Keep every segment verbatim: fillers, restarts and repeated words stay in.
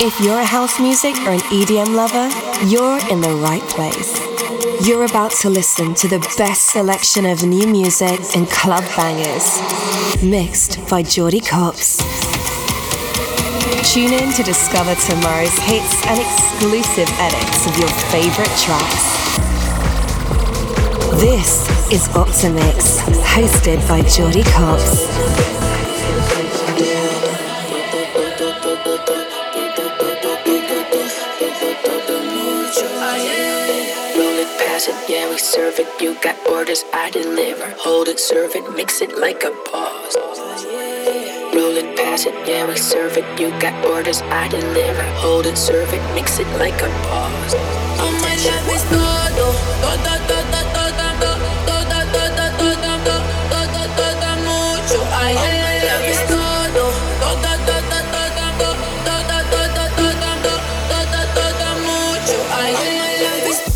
If you're a house music or an E D M lover, you're in the right place. You're about to listen to the best selection of new music and club bangers, mixed by Jordy Copps. Tune in to discover tomorrow's hits and exclusive edits of your favorite tracks. This is Optimix, hosted by Jordy Copps. Yeah, we serve it. You got orders, I deliver. Hold it, serve it, mix it like a boss. Roll it, pass it. Yeah, we serve it. You got orders, I deliver. Hold it, serve it, mix it like a boss. Oh, my love is todo, todo, todo, todo, todo, todo, todo, todo, todo, mucho. Ay, my love is todo, todo, todo, todo, todo, todo, todo, todo, todo, mucho. Ay, my love is.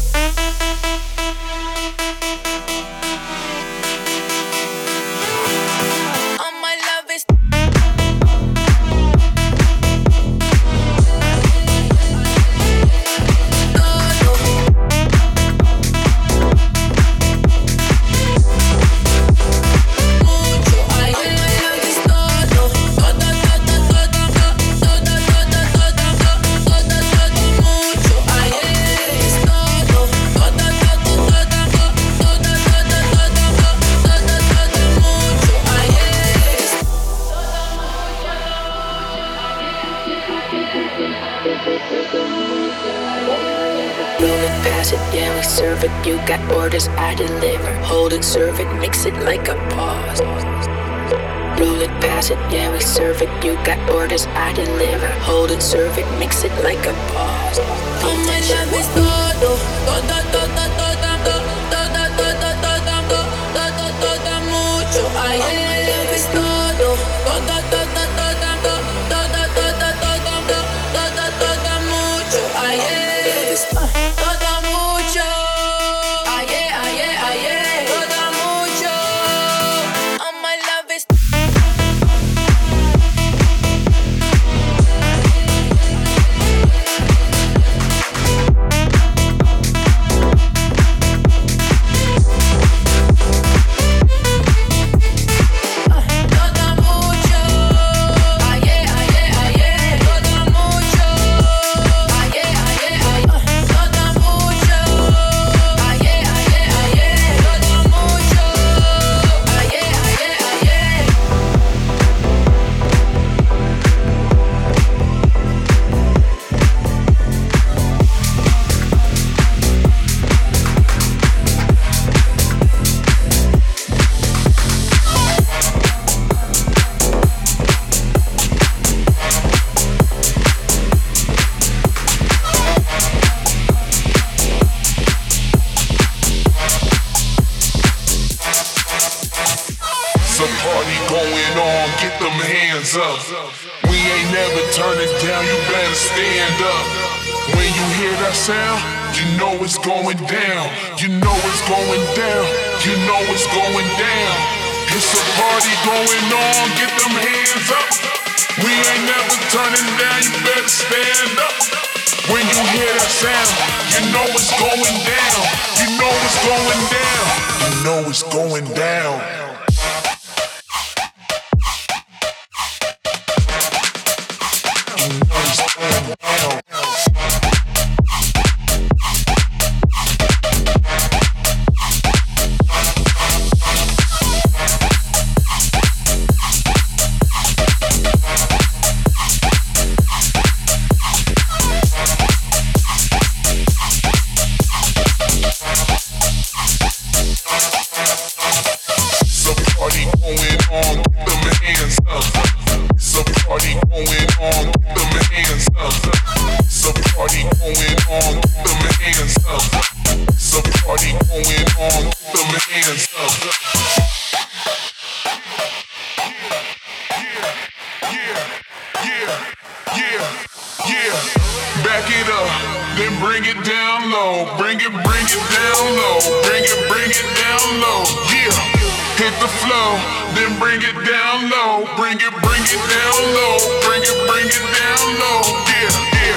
You got orders, I deliver. Hold it, serve it, mix it like a boss. Roll it, pass it, yeah, we serve it. You got orders, I deliver. Hold it, serve it, mix it like a boss. Oh, my love is todo, todo, todo, todo, todo, todo, todo, todo, todo, mucho. Ay, my love is todo, todo, todo, todo, todo, todo, todo, todo, todo, mucho. Ay, es todo mucho. We ain't never turning down, you better stand up. When you hear that sound, you know it's going down. You know it's going down. You know it's going down. It's a party going on, get them hands up. We ain't never turning down, you better stand up. When you hear that sound, you know it's going down. You know it's going down. You know it's going down. Bring it, bring it down low, bring it, bring it down low, yeah, yeah.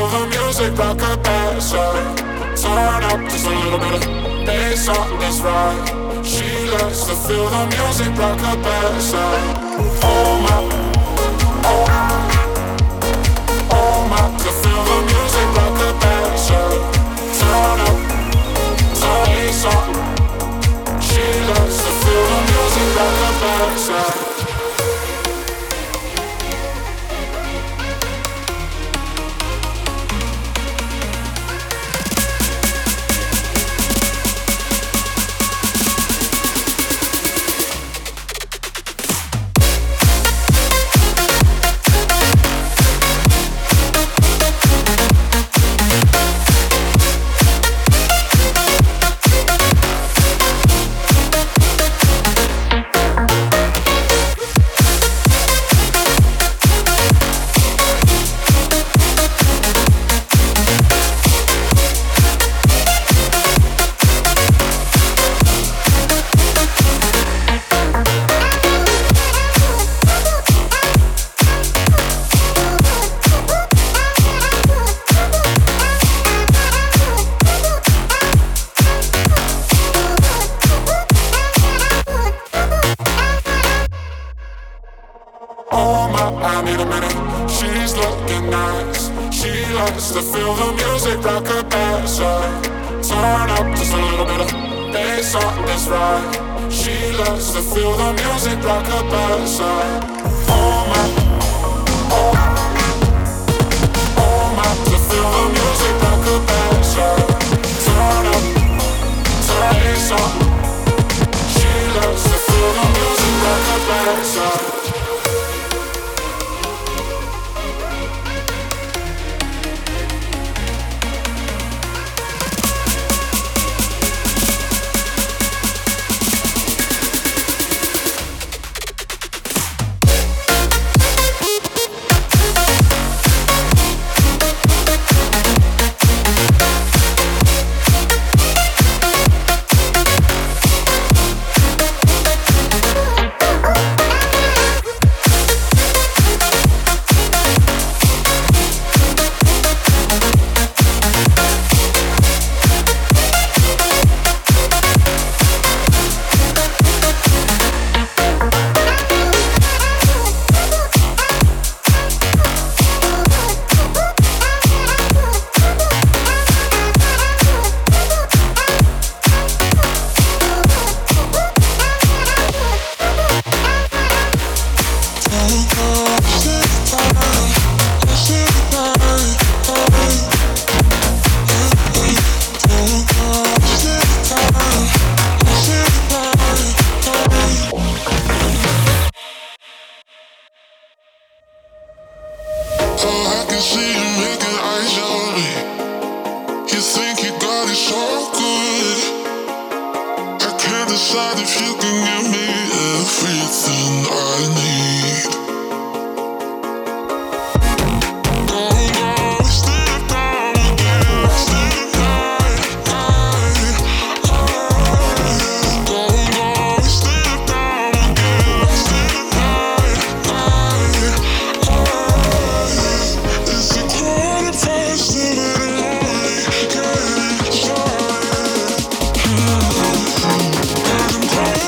feel the music like a passion. Turn up just a little bit of bass on this ride. She likes to feel the music like a passion. Oh my, oh, oh my, to feel the music like a passion. Turn up, turn bass on. She likes to feel the music like a passion. I need a minute, she's looking nice. She likes to feel the music like a passion. Turn up just a little bit of bass on this ride. She likes to feel the music like a passion. Oh my, oh, oh my, to feel the music like a passion. Turn up, turn bass on. She likes to feel the music like a passion. I'm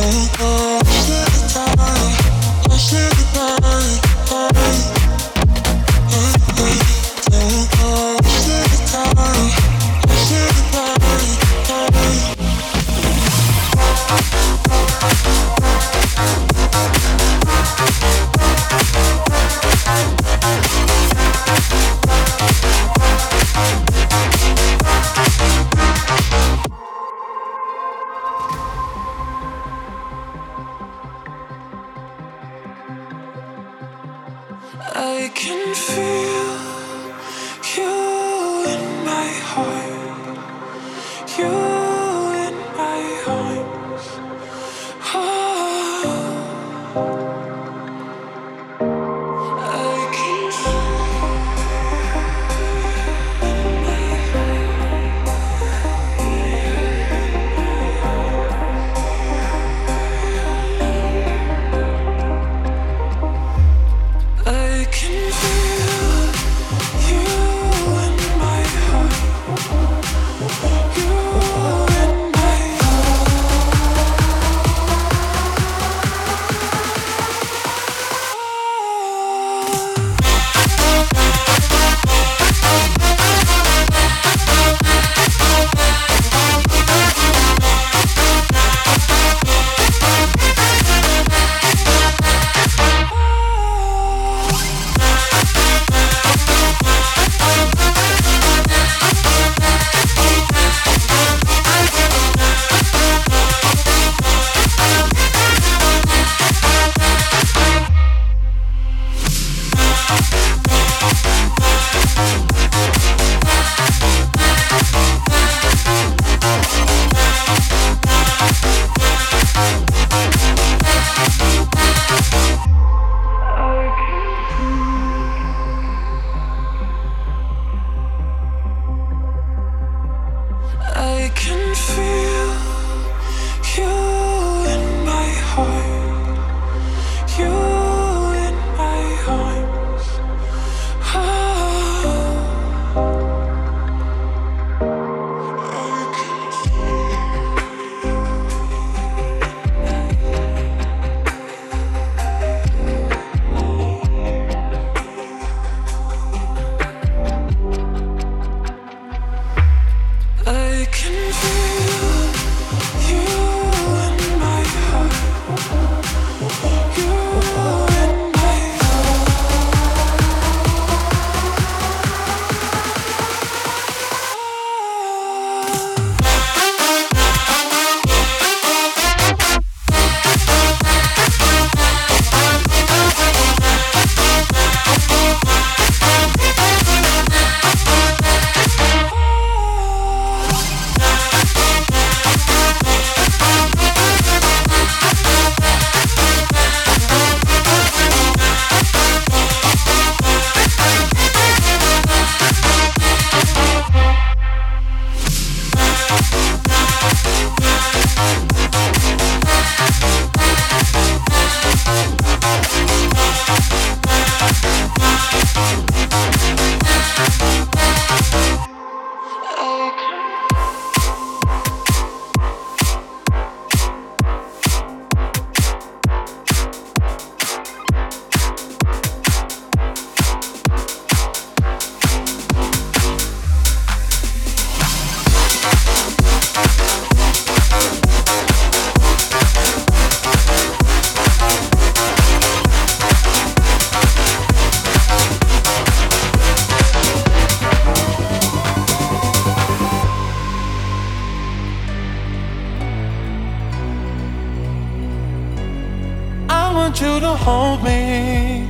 you to hold me.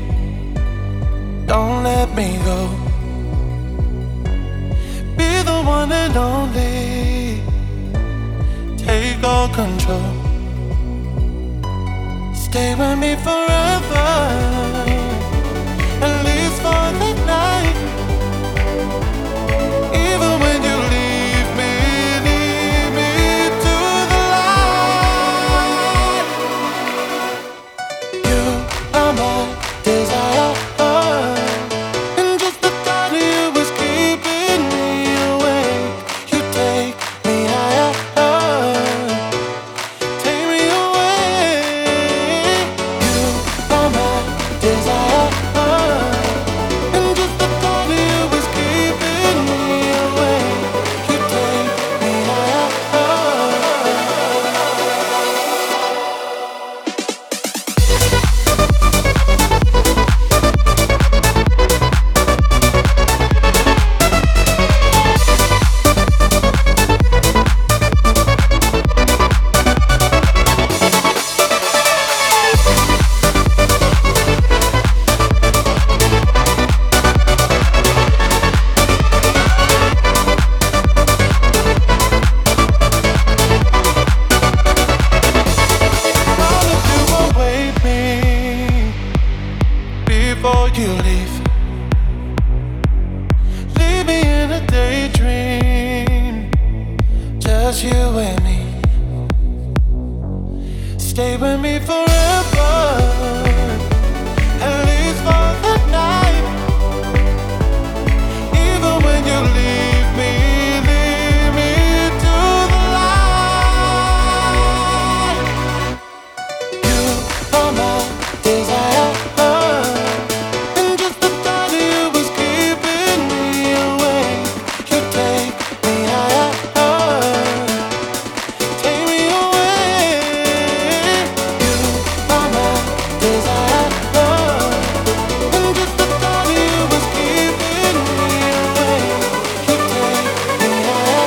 Don't let me go. Be the one and only. Take all control. Stay with me forever, at least for the night. Even when you leave me, leave me to the light. You are my desire, and just the thought of you is keeping me awake. You take me higher, take me away. with me forever, at least for the night. Even when you leave me, leave me to the light. You are my desire, and just the thought of you was keeping me awake. You take me higher, take me away. You are my desire, and just the thought of you was keeping me awake. You take me higher.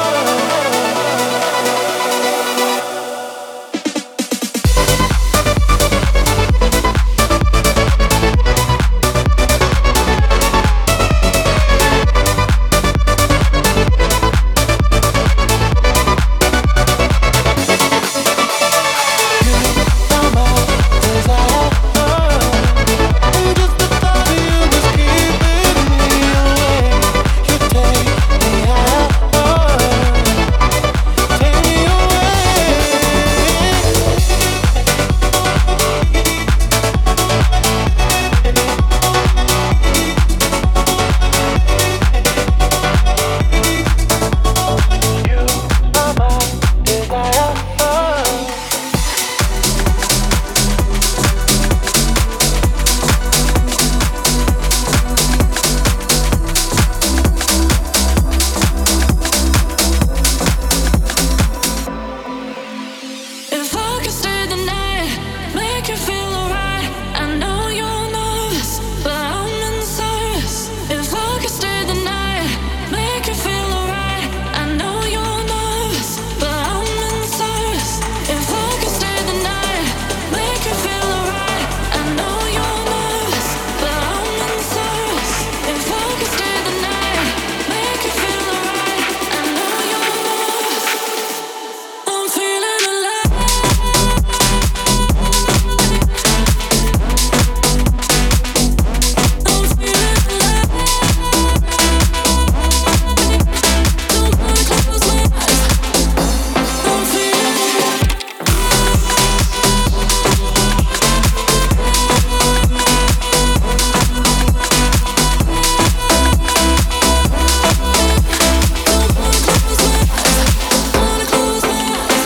If I could stay the night, make you feel alright. I know you're nervous, but I'm in service. If I could stay the night, make you feel alright. I know you're nervous, but I'm in service. If I could stay the night, make you feel alright. I know you're nervous, but I'm in service. If I could stay the night, make you feel alright. I know you're nervous. I'm feeling alive. I'm feeling alive. Don't wanna close my eyes. I'm feeling alive. Don't wanna close my eyes. Wanna close my eyes.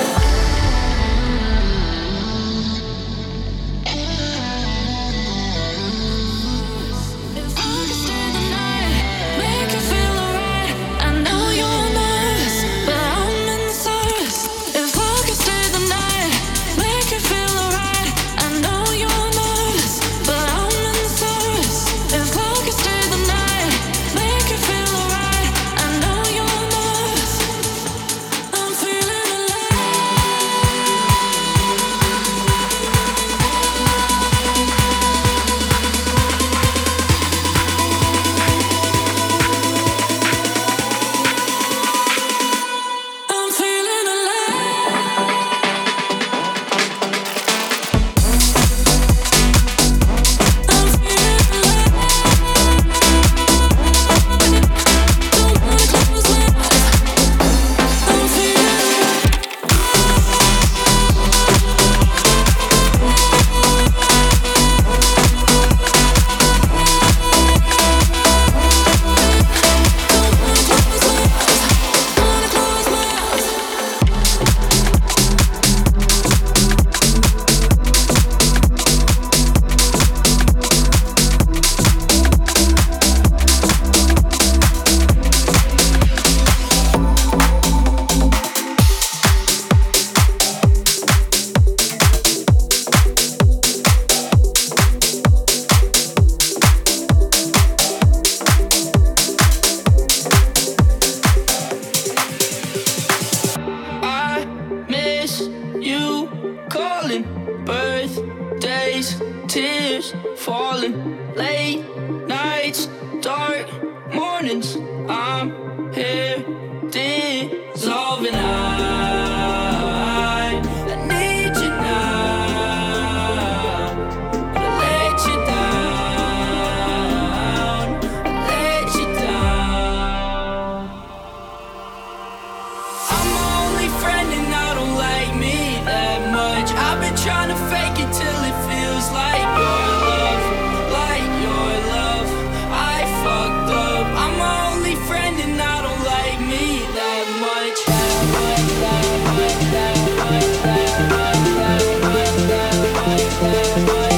If I could stay the night, make you feel alright. I know you're nervous, but I'm in service. If I could stay the night, make you feel alright. I know you're nervous, but I'm in service. If I could stay the night, make you feel alright. I know you're nervous. I'm feeling alive. I'm feeling alive. I'm feeling alive. Don't wanna close my eyes. I'm feeling alive. Don't wanna close my eyes. Wanna close my eyes. I miss you calling, birthdays, tears falling, late nights, dark mornings. I'm here dissolving. I, I need you now, but I let you down, I let you down. I'm my only friend and I don't like me that much. I've been trying to fake it till it feels like your love, like your love. I fucked up. I'm my only friend and I don't like me that much. That much, that much, that much, that much, that much, that much, that much.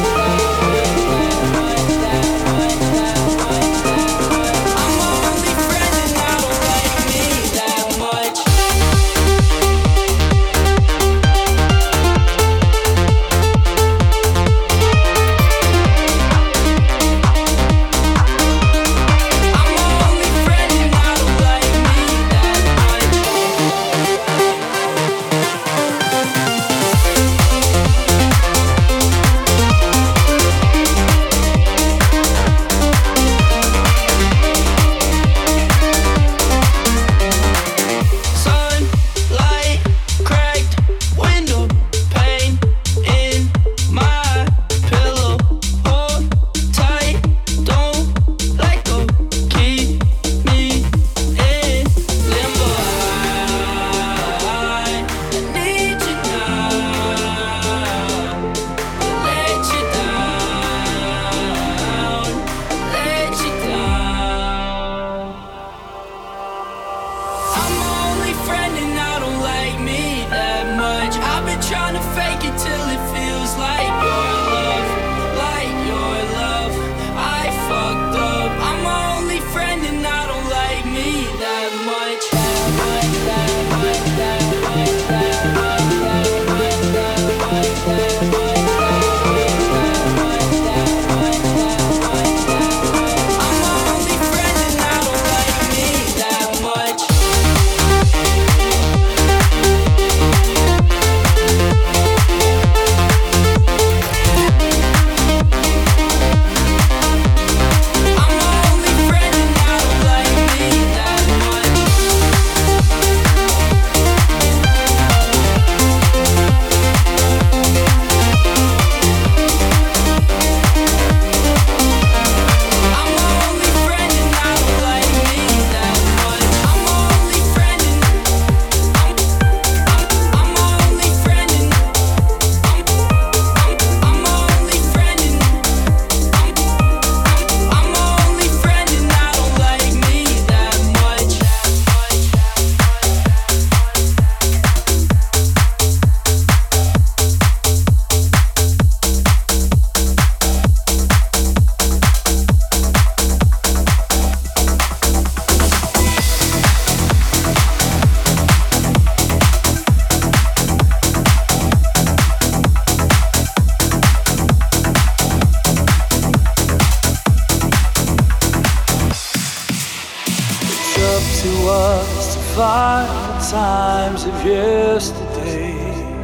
Times of yesterday.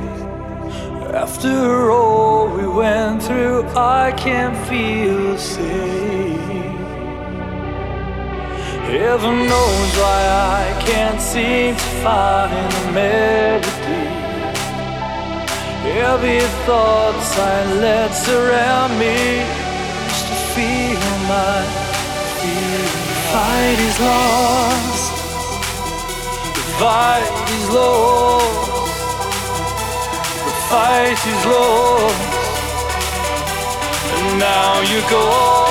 After all we went through, I can't feel safe. Heaven knows why I can't seem to find a melody. Heavy thoughts I let surround me, just to feel my feel. Fight is lost. Fight is lost. The fight is lost. And now you go.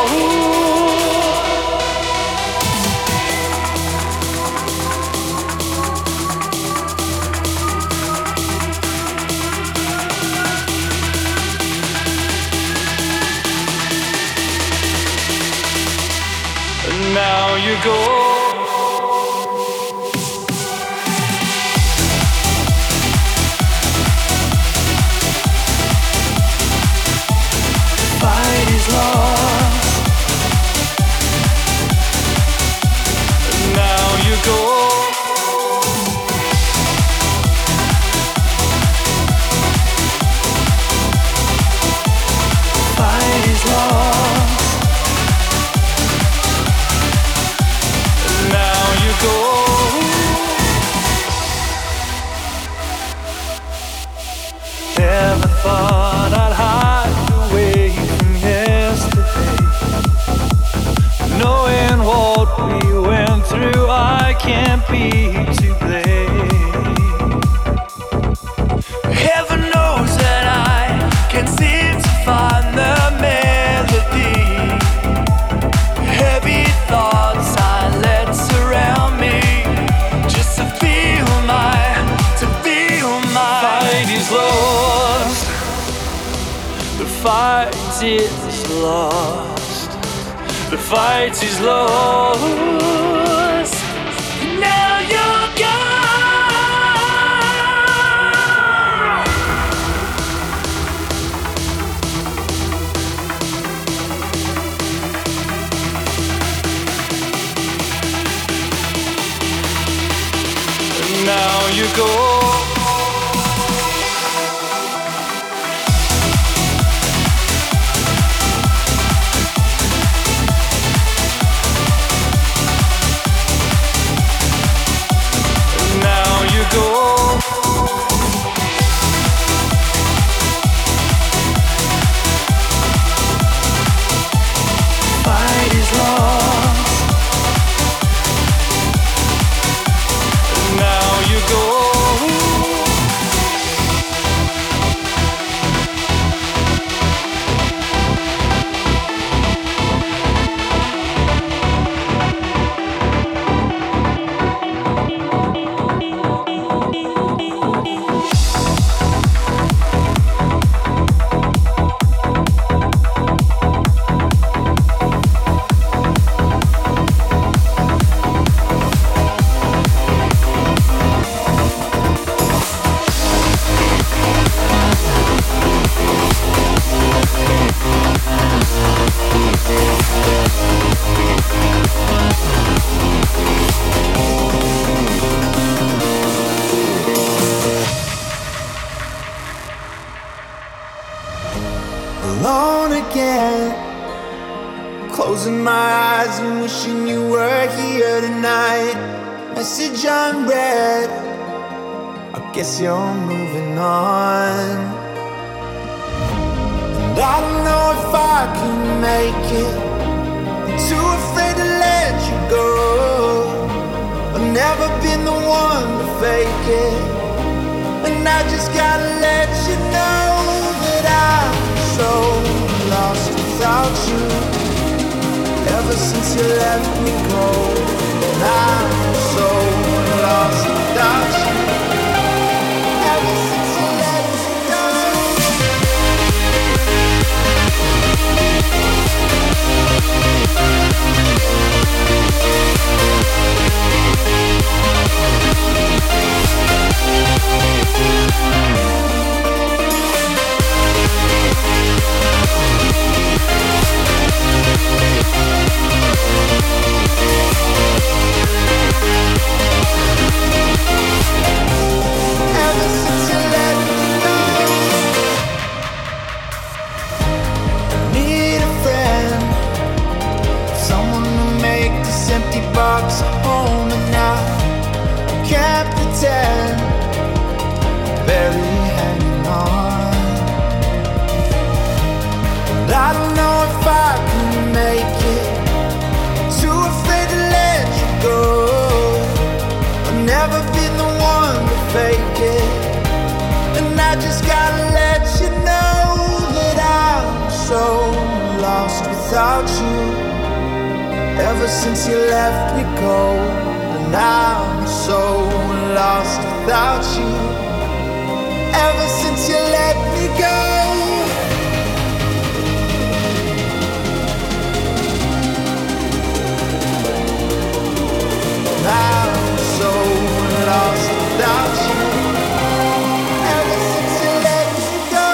And now you go. Can't be to blame. Heaven knows that I The fight is lost. The fight is lost. Now you're gone. And now you go. Alone again, closing my eyes and wishing you were here tonight. Message unread, I guess you're moving on. And I don't know if I can make it. I'm too afraid to let you go. I've never been the one to fake it, and I just gotta let you know that I'm so lost without you. Ever since you left me cold, and I'm so lost without you. Ever since you let me go. Ever since you let me go. I need a friend, someone to make this empty box a home, and now I can't pretend, barely hanging on. And I don't know if I can make it, too afraid to let you go. I've never been the one to fake it, and I just gotta let you know that I'm so lost without you. Ever since you left me cold, and I'm so lost without you. Ever since you let me go. I'm so lost without you. Ever since you let me go.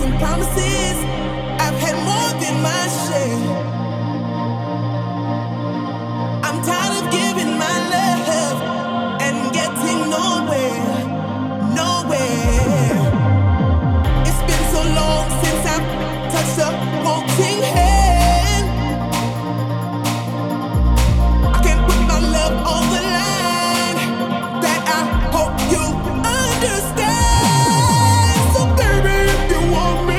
broken promises. I've had more than my share. I'm tired of giving my love and getting nowhere, nowhere. It's been so long since I've touched a floating hand. I can't put my love on the line. That I hope you understand. So baby, if you want me,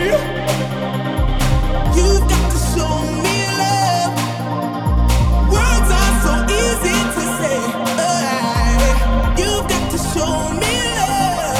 you've got to show me love. Words are so easy to say. Uh, you've got to show me love.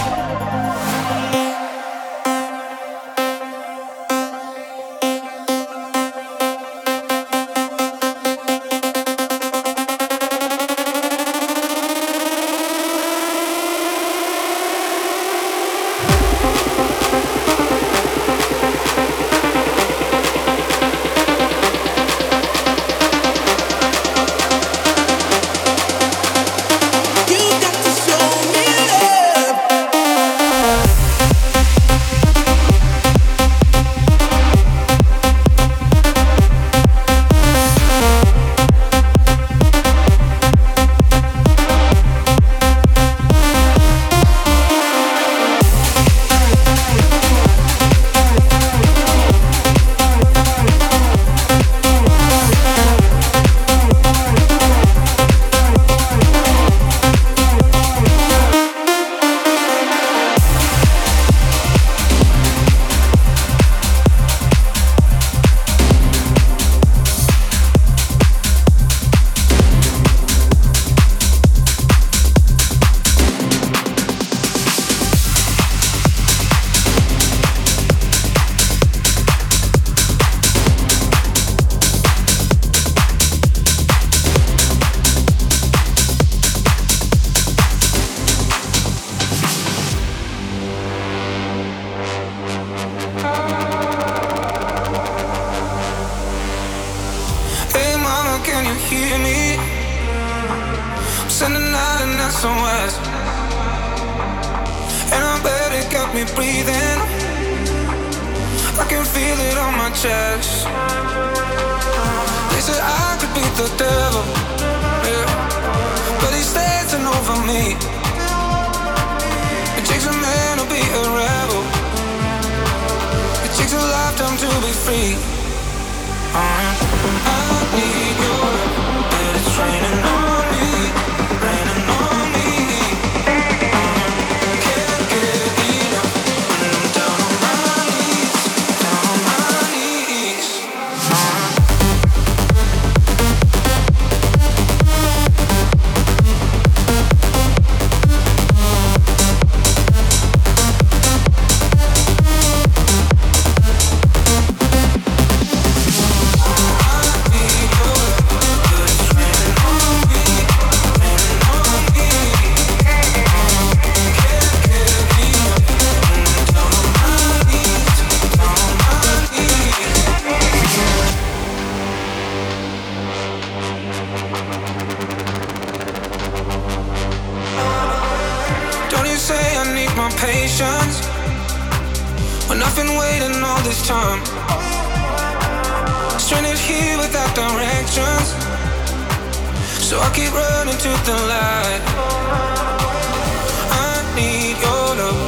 You've got to show me love. Hey mama, can you hear me? I'm sending out an S O S, and I bet it got me breathing. I can feel it on my chest. They said I could beat the devil, yeah, but he's dancing over me. It takes a man to be a rebel. It takes a lifetime to be free. I need your love, but it's raining on me, raining on me. Can't get enough when I'm down on my knees, down on my knees. Don't you say I need my patience when I've been waiting all this time, stranded here without directions, so I keep running to the light. I need your love,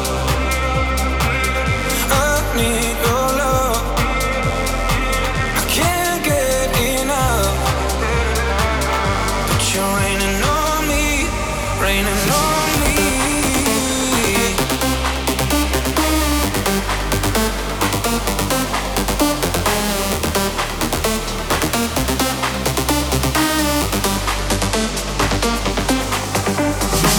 I need your love. I can't get enough, but you're raining on me, raining on me. You've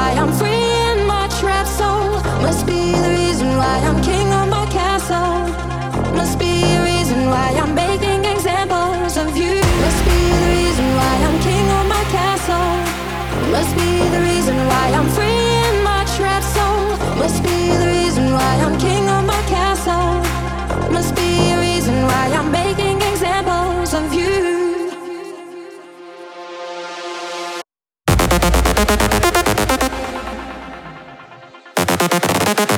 why I'm free in my trap soul. Must be the reason why I'm king of my castle. Must be the reason why I'm making examples of you. Must be the reason why I'm king of my castle. Must be the reason why I'm free in my trap soul. Must be the reason why I'm king of my castle. Must be a reason why I'm making examples of you. We'll be right back.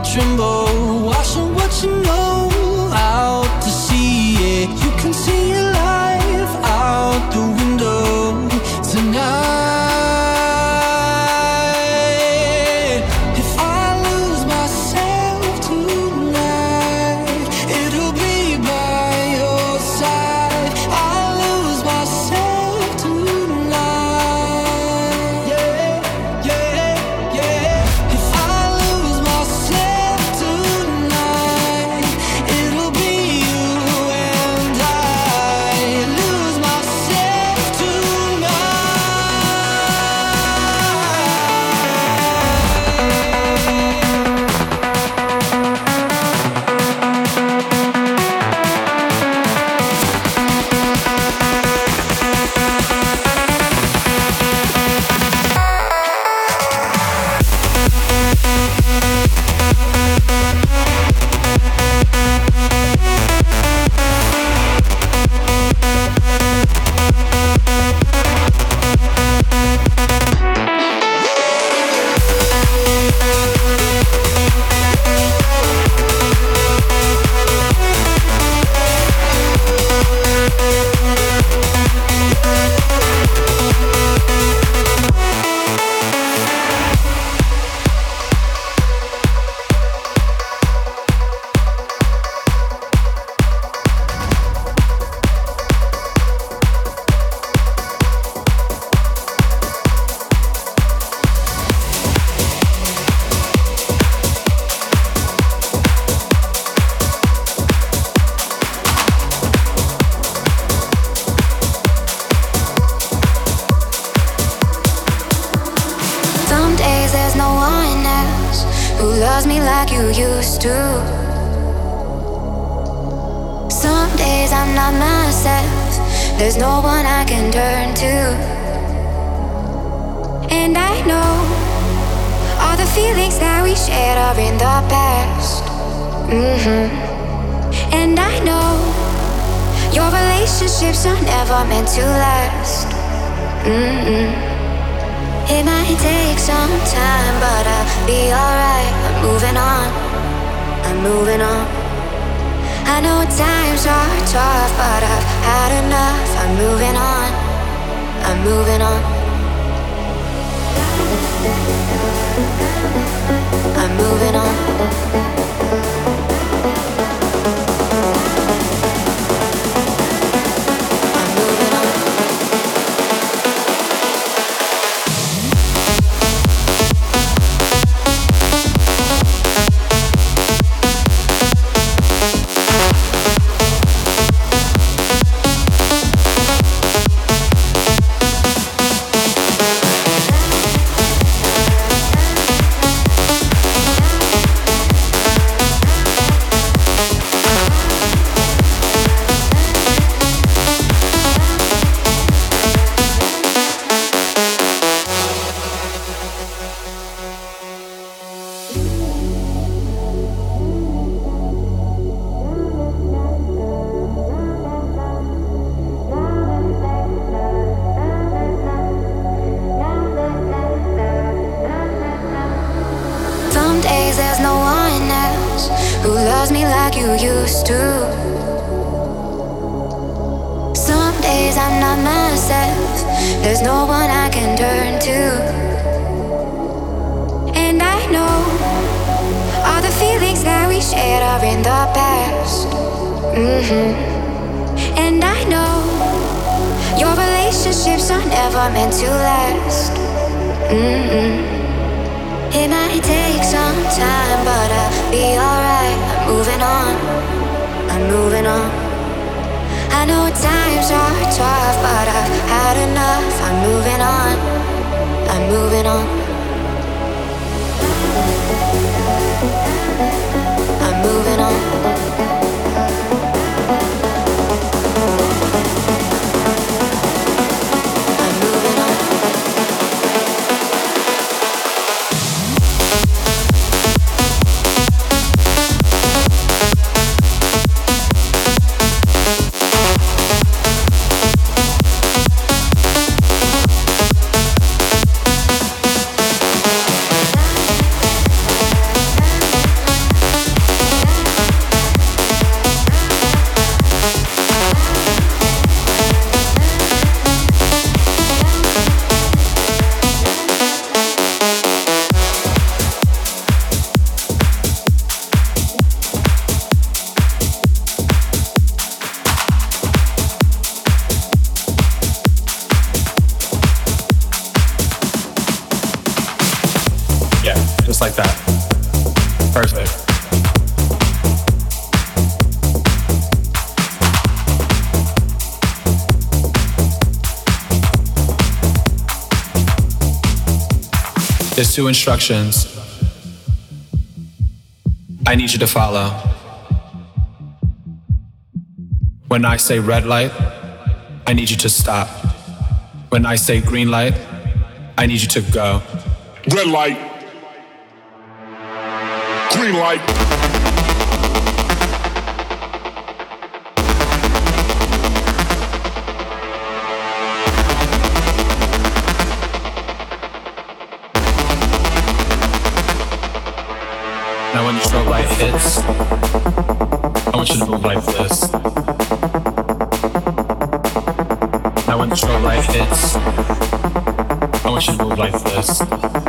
tremble, washing what you know out to sea. Yeah, you can see your life out the window tonight. If I lose myself tonight, it'll be by your side. I lose myself tonight. Yeah, yeah, yeah. If I lose myself tonight, it'll be you and I. Lose myself tonight. Some days there's no one else who loves me like you used to. Some days I'm not myself, there's no one I can turn to. And I know all the feelings that we shared are in the past. Mm-hmm. And I know your relationships are never meant to last. Mm-hmm. It might take some time, but I'll be alright. I'm moving on, I'm moving on. I know times are tough, but I've had enough. I'm moving on, I'm moving on. I'm moving on. Some days there's no one else who loves me like you used to. Some days I'm not myself, there's no one I can turn to. And I know all the feelings that we shared are in the past. Mm-hmm. And I know your relationships are never meant to last. Mm-hmm. It might take some time, but I'll be alright. I'm moving on, I'm moving on. I know times are tough, but I've had enough. I'm moving on, I'm moving on. I'm moving on. just like that. Perfect. There's two instructions I need you to follow. When I say red light, I need you to stop. When I say green light, I need you to go. Red light. Green light. Now when the strobe light hits, I want you to move like this. Now when the strobe light hits, I want you to move like this.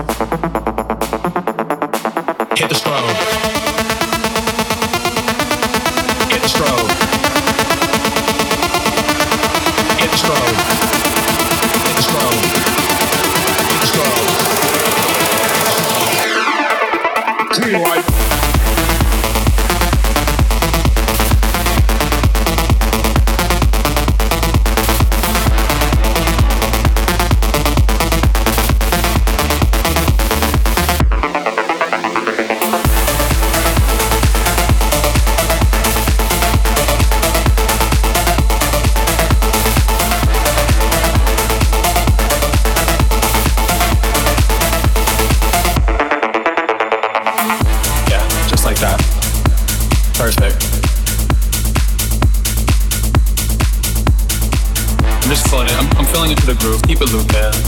Hit the strobe. Hit the strobe. Hit the strobe. Hit the strobe. Hit the strobe. Green light. Perfect. I'm just feeling it. I'm, I'm feeling into the groove. Keep it looped, man.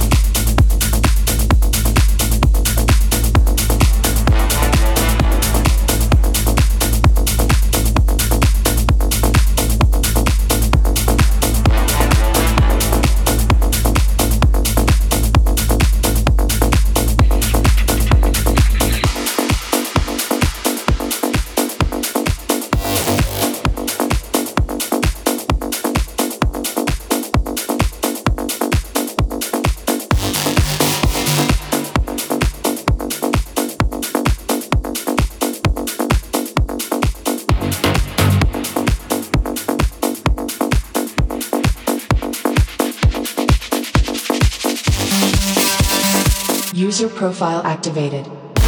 User profile activated.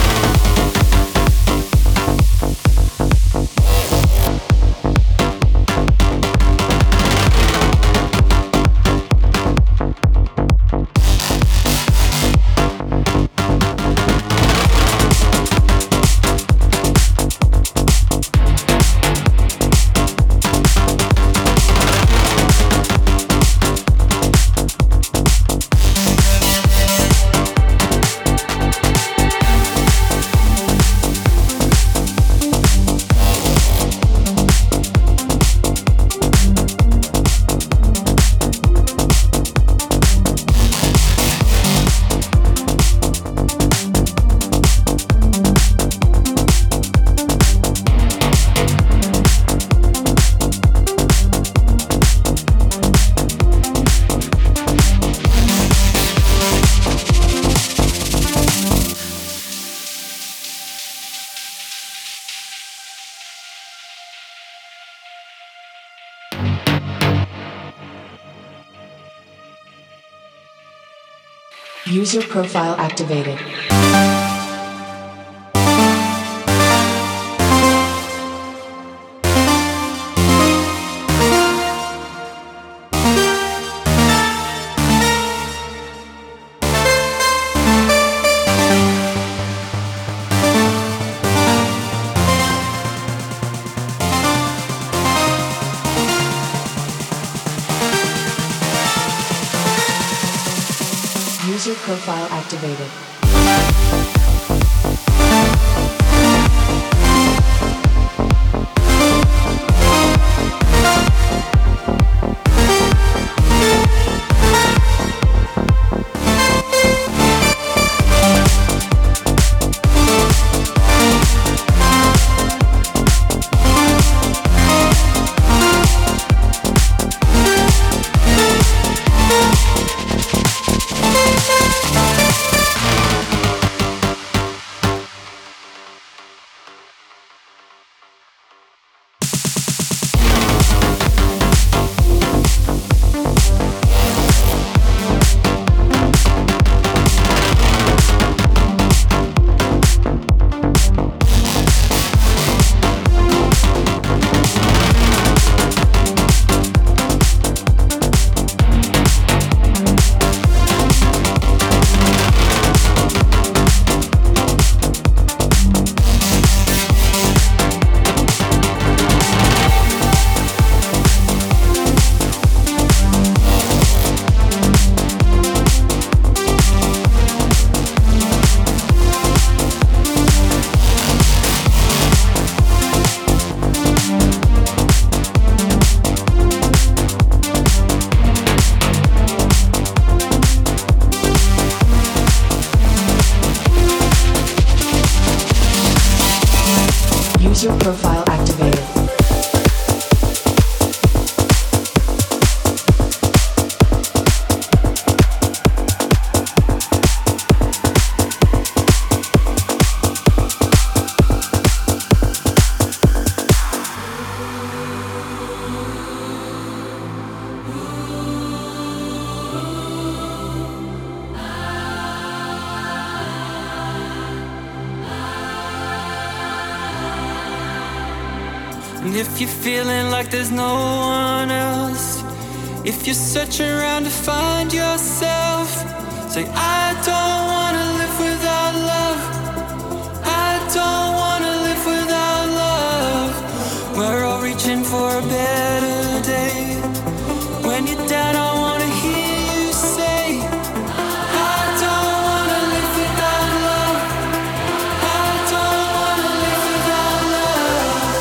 User profile activated. User profile activated. User profile activated. And if you're feeling like there's no one else, if you're searching around to find yourself, say, I don't wanna live without love. I don't wanna live without love. We're all reaching for a better day. When you're down, I wanna hear you say, I don't wanna live without love. I don't wanna live without love.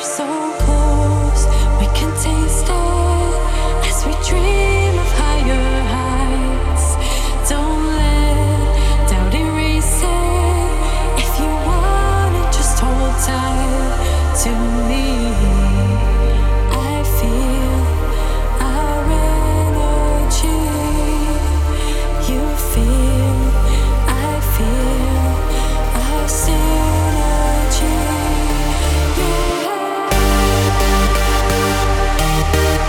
synergy.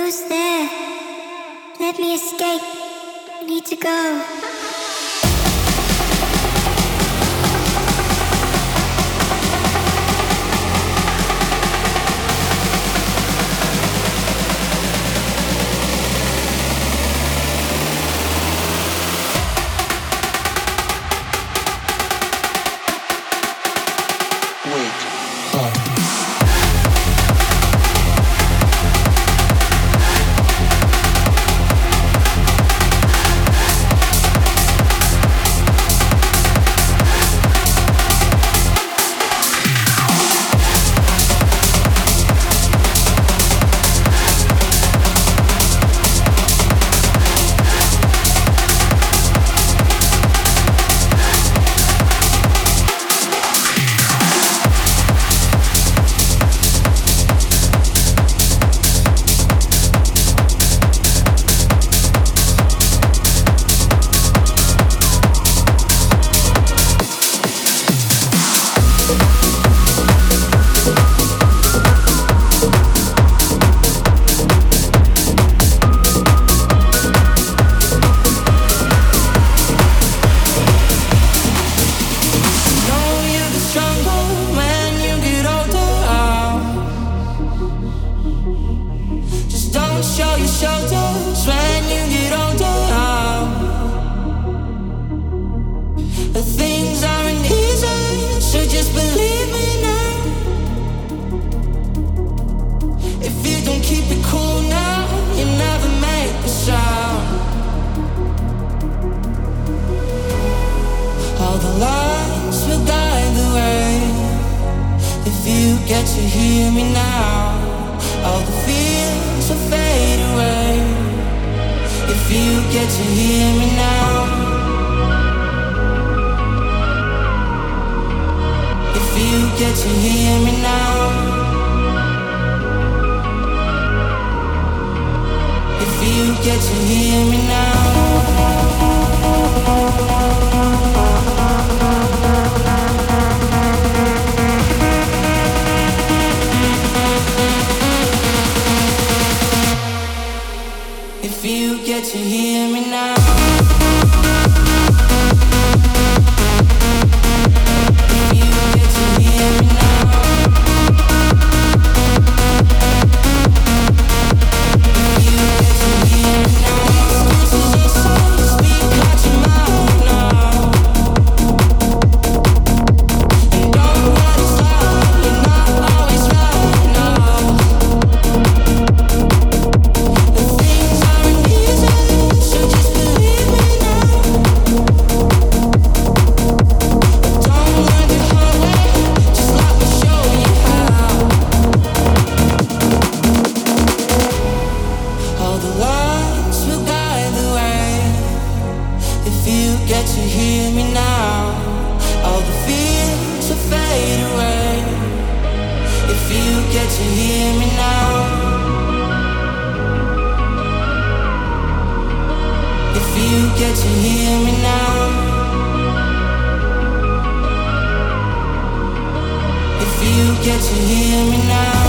Who's there? Let me escape. I need to go. Get to hear me now.